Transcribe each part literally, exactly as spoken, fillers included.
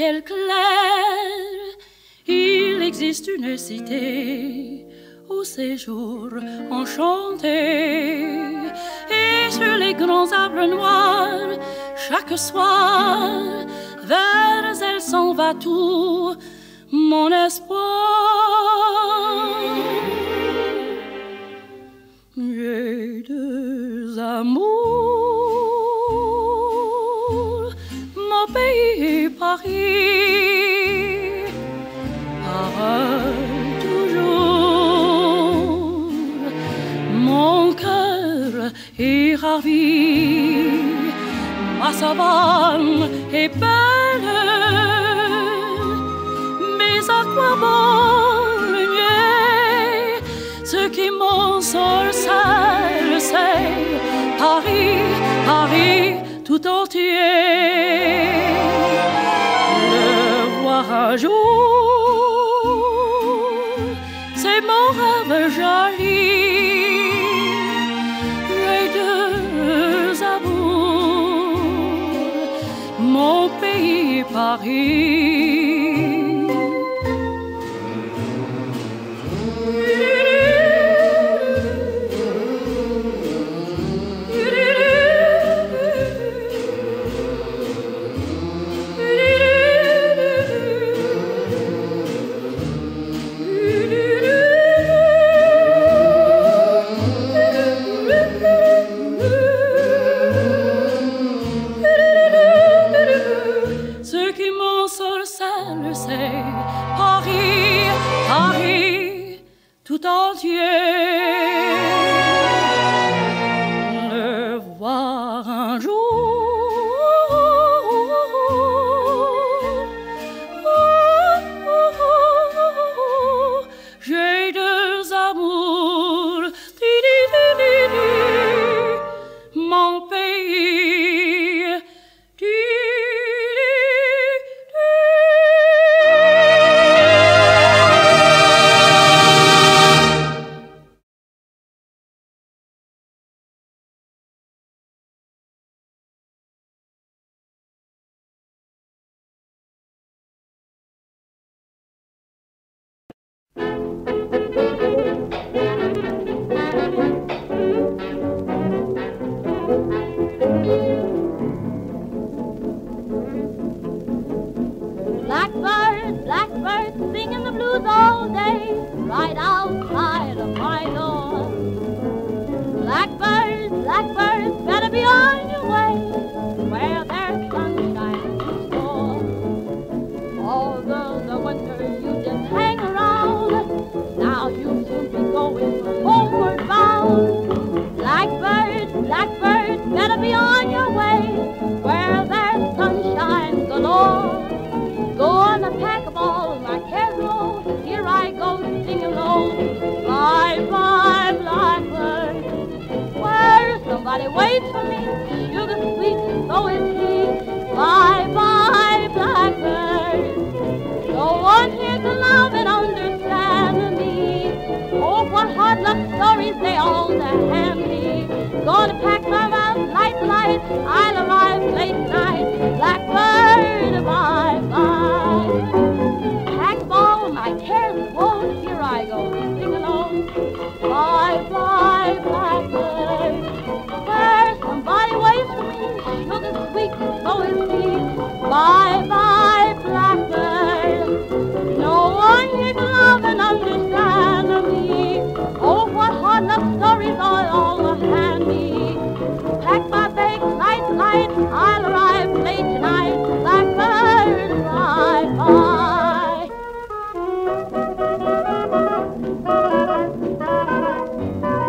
ciel clair, il existe une cité au séjour enchanté. Et sur les grands arbres noirs, chaque soir, vers elle s'en va tout mon espoir. J'ai deux amours, mon pays et Paris, pareil toujours, mon cœur est ravi, ma savane est belle, mais à quoi bon le nier? Ce qui m'ensorcelle, c'est Paris, Paris tout entier. Le voir un jour, c'est mon rêve joli. J'ai deux amours, mon pays Paris. Tout entier, le voir un jour, j'ai deux amours, mon pays. Blackbird, blackbird, singing the blues all day, right outside of my door. Blackbird, blackbird, better be on your way, where there's sunshine to store. Although the winter you just hang around, now you'll soon be going homeward bound. Blackbird, blackbird, better be on your way, where there's sunshine galore. Gonna pack up all my cares low, here I go singing low. Bye bye blackbird, where somebody waits for me, sugar sweet and so is he. Bye bye blackbird, no one here to love and understand me. Oh, what hard luck stories they all hand me. Gonna pack my mouth light light, I'll arrive late tonight. Blackbird, bye bye. Pack all my cares and woes, here I go sing along. Bye bye blackbird, where somebody waits for me, sugar sweet and so is he. Bye bye blackbird, no one here to love and understand me. Oh, what hard luck stories are all handy. Pack my bags light, light, I'll arrive late tonight. Blackbird, bye bye.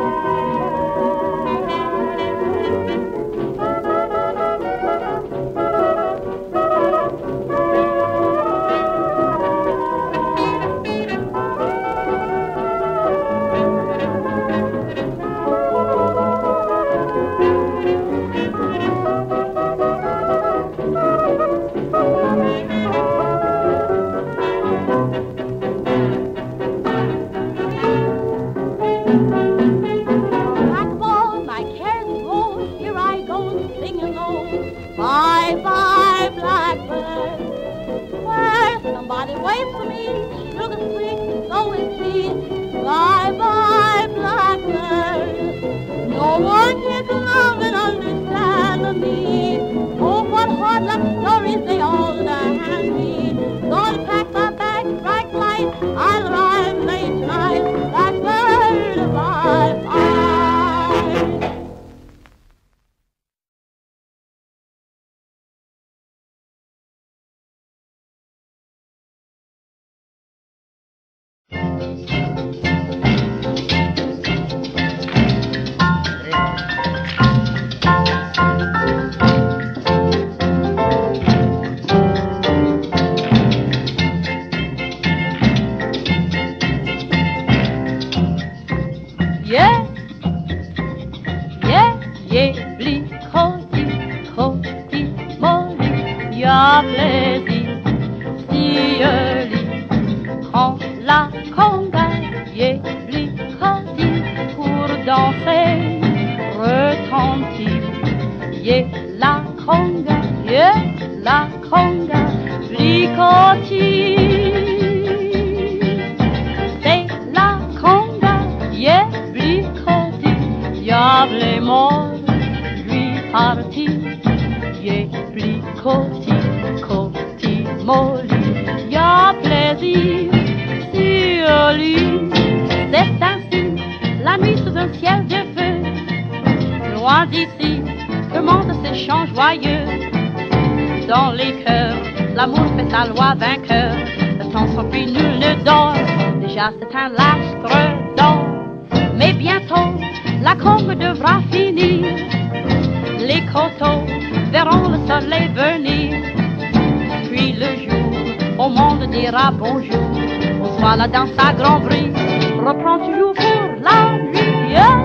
cotillier, pli cotillier, cotillier, molly, y a plaisir sur lui. C'est ainsi, la nuit sous un ciel de feu, loin d'ici, le monde s'échange joyeux. Dans les cœurs, l'amour fait sa loi vainqueur. Le temps s'enfuit, nul ne dort. Déjà c'est un l'astre d'or. Mais bientôt, la combe devra finir. Les coteaux verront le soleil venir. Puis le jour, au monde dira bonjour. Au soir, la danse à grand bruit reprend toujours pour la nuit. Yeah.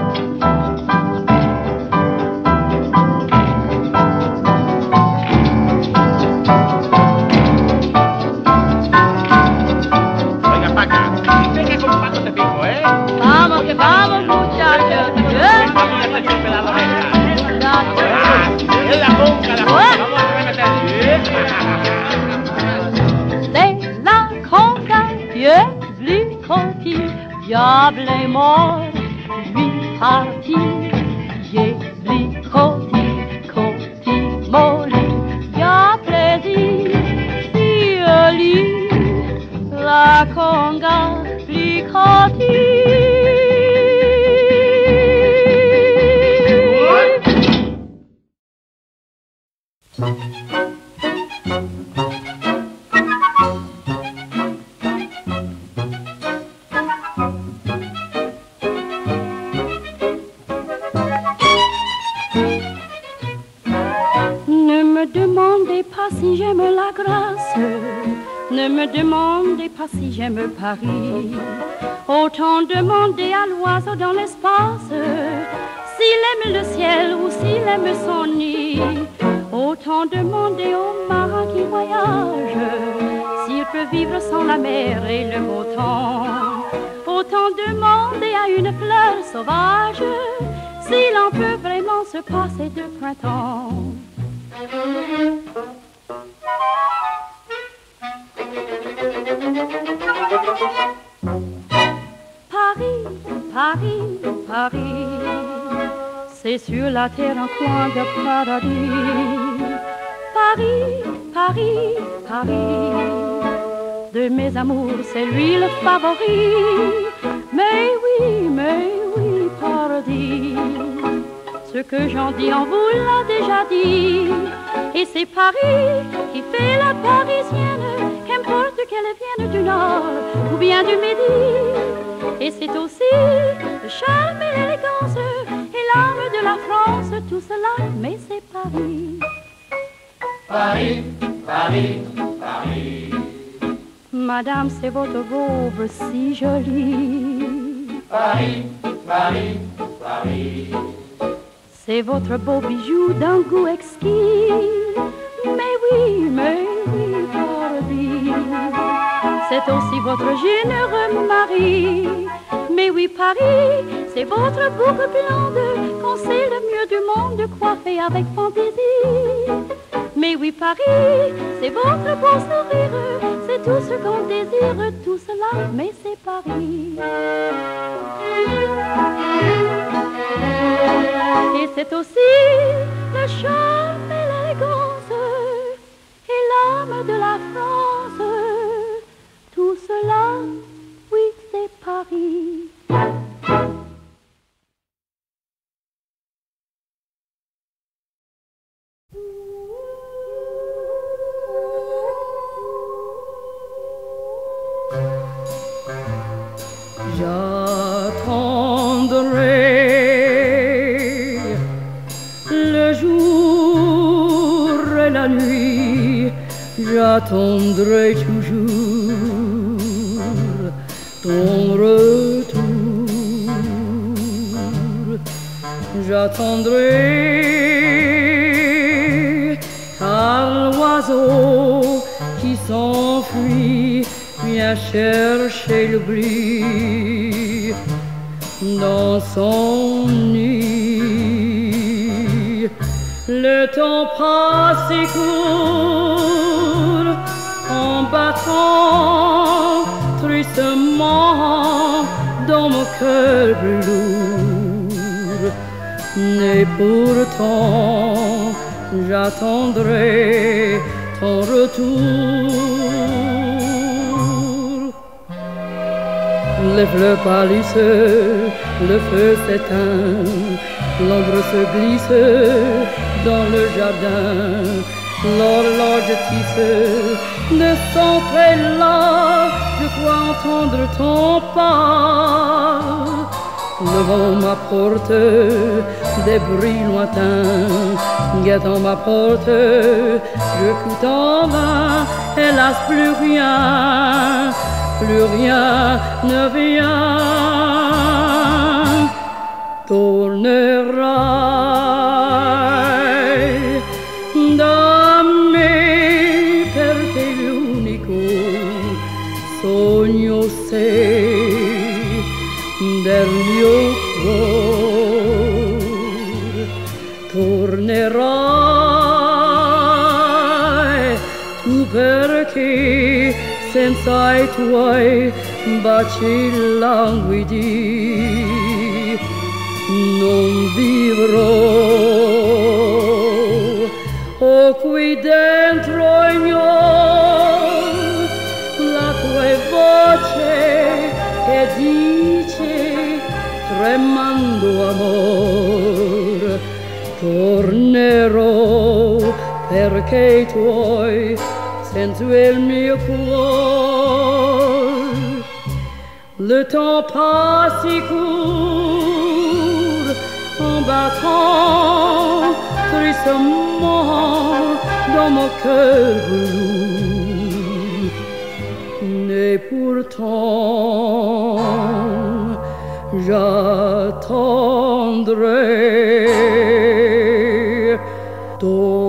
Vamos que vamos, muchachos. Es la conga, la conga. Vamos a remeter. C'est la conga, Dieu, lui cotillier, diable est mort, lui parti, Dieu, lui cotillier, cotillier, molly, y a plaisir, sur lui, la conga, lui cotillier. Ne me demandez pas si j'aime la grâce, ne me demandez pas si j'aime Paris. Autant demander à l'oiseau dans l'espace s'il aime le ciel ou s'il aime son nid. Autant demander au marin qui voyage s'il peut vivre sans la mer et le beau temps. Autant demander à une fleur sauvage s'il en peut vraiment se passer de printemps. Paris, Paris, Paris, c'est sur la terre un coin de paradis. Paris, Paris, Paris, de mes amours c'est lui le favori. Mais oui, mais oui, paradis, ce que j'en dis on vous l'a déjà dit. Et c'est Paris qui fait la parisienne, qu'importe qu'elle vienne du nord ou bien du midi. Et c'est aussi le charme et l'élégance et l'âme de la France, tout cela, mais c'est Paris. Paris, Paris, Paris. Madame, c'est votre robe si jolie. Paris, Paris, Paris. C'est votre beau bijou d'un goût exquis. Mais oui, mais oui, paradis, c'est aussi votre généreux mari. Mais oui, Paris, c'est votre boucle blonde qu'on sait le mieux du monde coiffé avec fantaisie. Mais oui, Paris, c'est votre beau sourire, c'est tout ce qu'on désire, tout cela, mais c'est Paris. Et c'est aussi le charme et l'élégance et l'âme de la France, tout cela, oui, c'est Paris. J'attendrai le jour et la nuit, j'attendrai toujours ton retour. J'attendrai car l'oiseau qui s'enfuit vient chercher l'oubli dans son nid. Le temps passe et court en battant tristement dans mon cœur lourd. Et pourtant j'attendrai ton retour. Les fleurs pâlissent, le feu s'éteint, l'ombre se glisse dans le jardin. L'horloge tisse de son là, je crois entendre ton pas. Devant ma porte, des bruits lointains, guettant ma porte, je coûte en vain, hélas plus rien, plus rien ne vient. Tornerai da me perché l'unico sogno sei del mio cuore. Tornerai tu perché senza i tuoi baci languidi non vivrò. Oh, qui dentro ignor la tua voce che dice tremando amor. Tornerò perché i tuoi senza il mio cuore. Le temps passe si court en battant tristement dans mon cœur velours. Et pourtant j'attendrai ton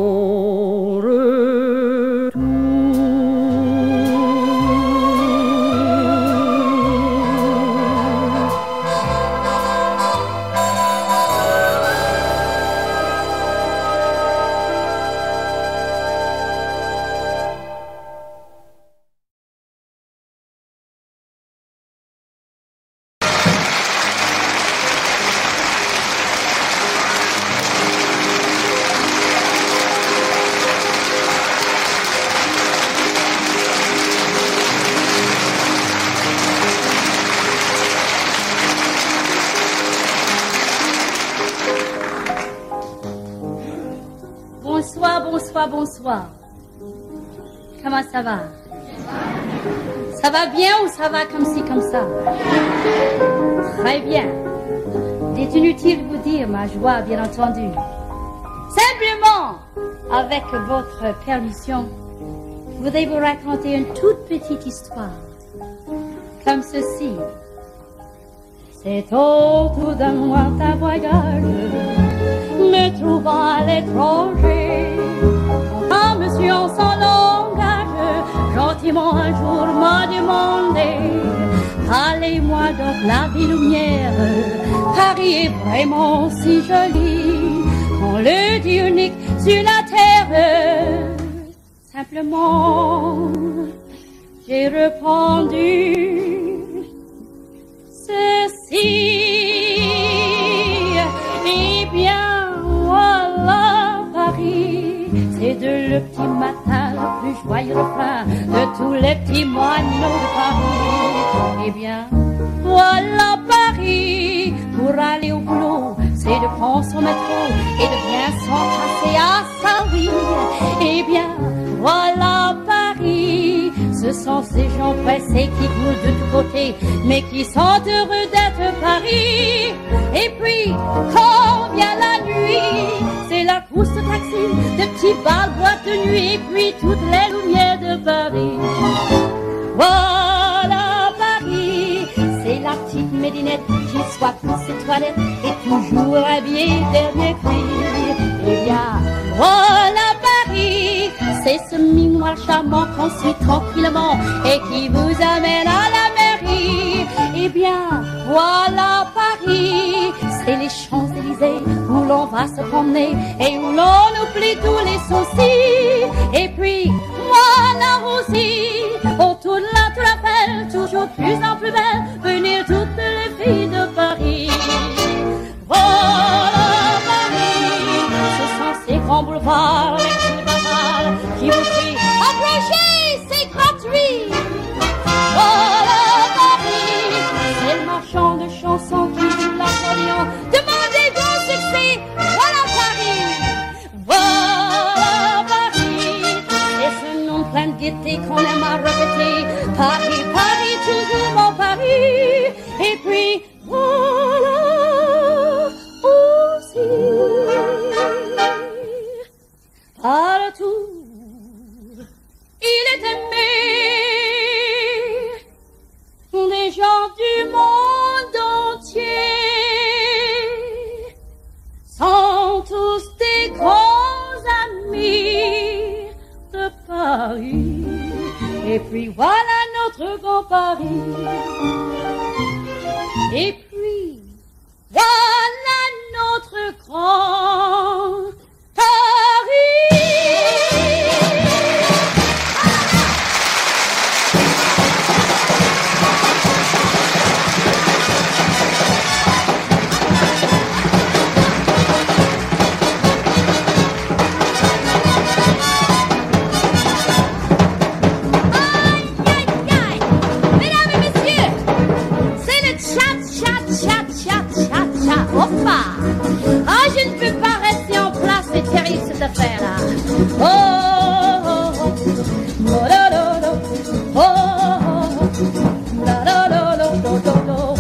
Bonsoir, bonsoir. Comment ça va? Ça va bien ou ça va comme ci, comme ça? Très bien. Il est inutile de vous dire ma joie, bien entendu. Simplement, avec votre permission, je voudrais vous raconter une toute petite histoire. Comme ceci. C'est autour d'un lointain voyage, me trouvant à l'étranger. Un monsieur en son langage, gentiment un jour m'a demandé: allez-moi donc la ville lumière, Paris est vraiment si joli, on le dit unique sur la terre. Simplement, j'ai répondu ceci: eh bien, voilà Paris, c'est de le petit matin le plus joyeux refrain de tous les petits moineaux de Paris. Eh bien, voilà Paris, pour aller au boulot, c'est de prendre son métro et de bien s'entasser à sa vie. Eh bien, voilà Paris, ce sont ces gens pressés qui courent de tous côtés, mais qui sont heureux d'être Paris. Et puis, quand vient la nuit, c'est la course de taxi, de petits bals, boîtes de nuit, et puis toutes les lumières de Paris. Voilà Paris, c'est la petite Médinette qui soit pour ses toilettes et toujours habillée dernier cri. Eh bien, voilà Paris, c'est ce minois charmant qu'on suit tranquillement et qui vous amène à la mairie. Eh bien, voilà Paris, c'est les Champs-Élysées où l'on va se promener et où l'on oublie tous les soucis. Et puis, voilà aussi, autour de la tour Eiffel, toujours plus en plus belle, venir toutes les filles de Paris. Voilà Et puis, voilà notre grand Paris. Ah, je ne peux pas rester en place, c'est terrible cette affaire-là. Oh, oh, oh, oh, la, la, la. Oh, oh, oh, la, la, la, la, la, la,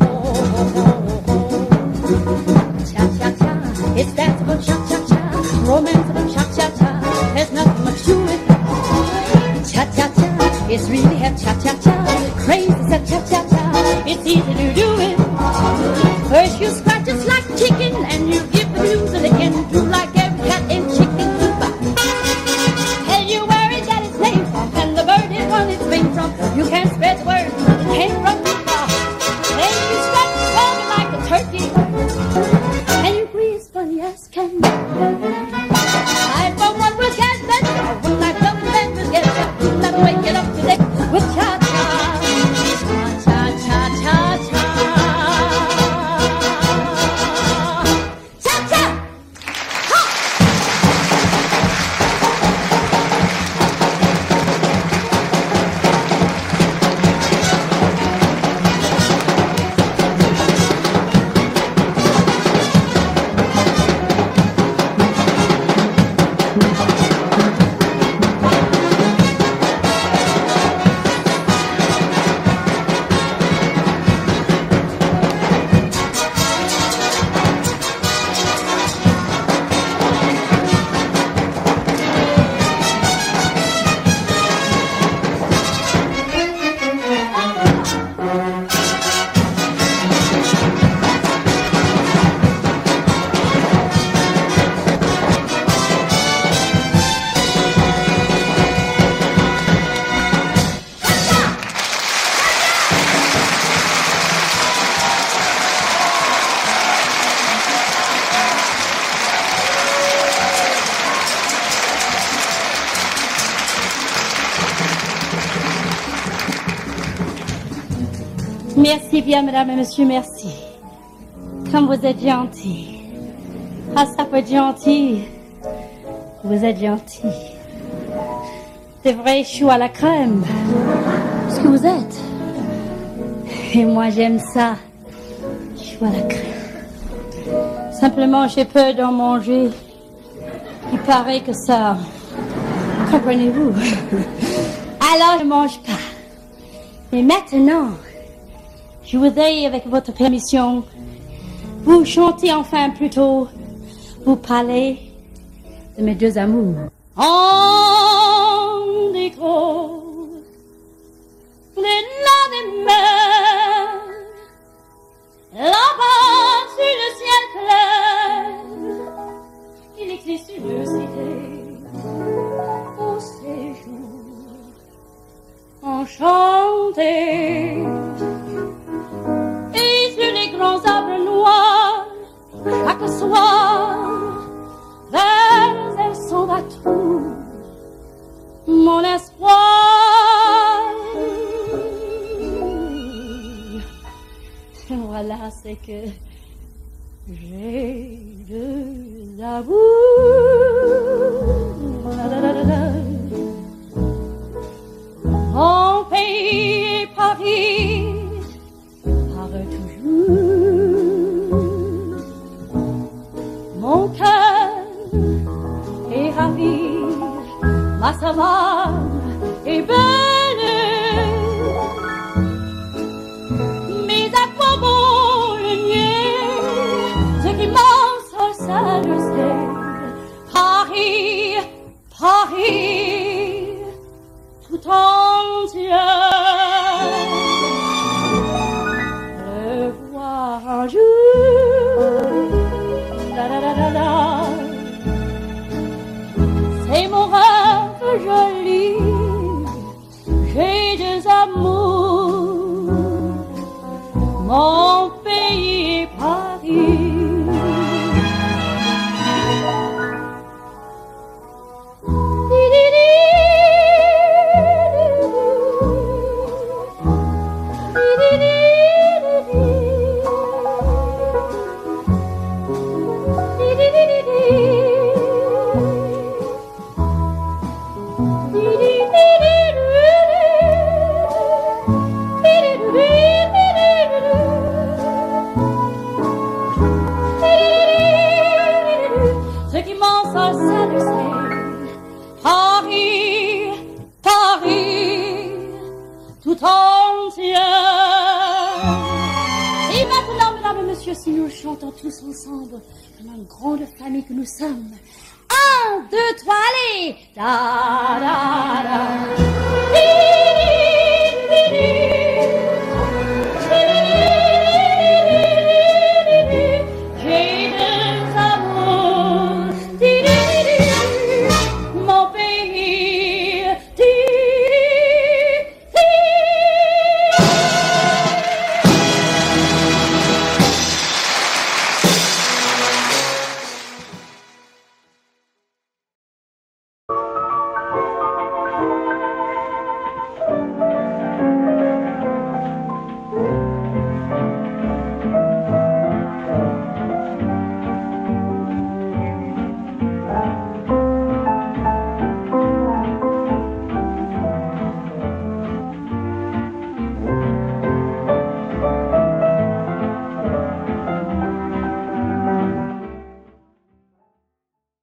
cha-cha-cha, it's danceable cha-cha-cha, romanceable cha-cha-cha, there's nothing much to it. Cha-cha-cha, it's really a cha-cha-cha, crazy cha-cha-cha, it's easy to do it. First you scratch just like chicken, and you give the blues a licking, do like every cat in chicken coop. Tell you where it got its name from, and the bird it won its wing from. You can't spread the word, it came from too far. Then you scratch the stomach like a turkey, and you breathe funny as can be. I for one will get better, when my double bend will get better. Never wake it up today with cha-cha, cha-cha-cha-cha-cha. Merci bien, mesdames et messieurs, merci. Comme vous êtes gentils. Ah, ça peut être gentil. Vous êtes gentils. Des vrais choux à la crème. Ce que vous êtes. Et moi, j'aime ça. Choux à la crème. Simplement, j'ai peur d'en manger. Il paraît que ça... Comprenez-vous? Alors, je ne mange pas. Mais maintenant... je voudrais, avec votre permission, vous chanter enfin plutôt, vous parler de mes deux amours. En décor, l'élan des mers, là-bas sur le ciel clair, il existe une cité au séjour enchanté. Et sur les grands arbres noirs, chaque soir, vers elle s'en va tout mon espoir. Voilà, c'est que j'ai deux amours. La, la, la, la, la. Mon pays et Paris. Mon cœur est ravi, ma savane est belle. Mais à quoi bon le nier, ce qui m'en sort, ça le sait. Paris, Paris, tout entier. Le voir un jour. La, la, la, la, la. C'est mon rêve joli, j'ai deux amours, mon et Paris. Ce qui m'en sort, ça le sait. Paris, Paris, tout entier. Et maintenant, mesdames et messieurs, si nous chantons tous ensemble, comme une grande famille que nous sommes. Un, deux, trois, allez! Da, da, da. Di, di, di, di.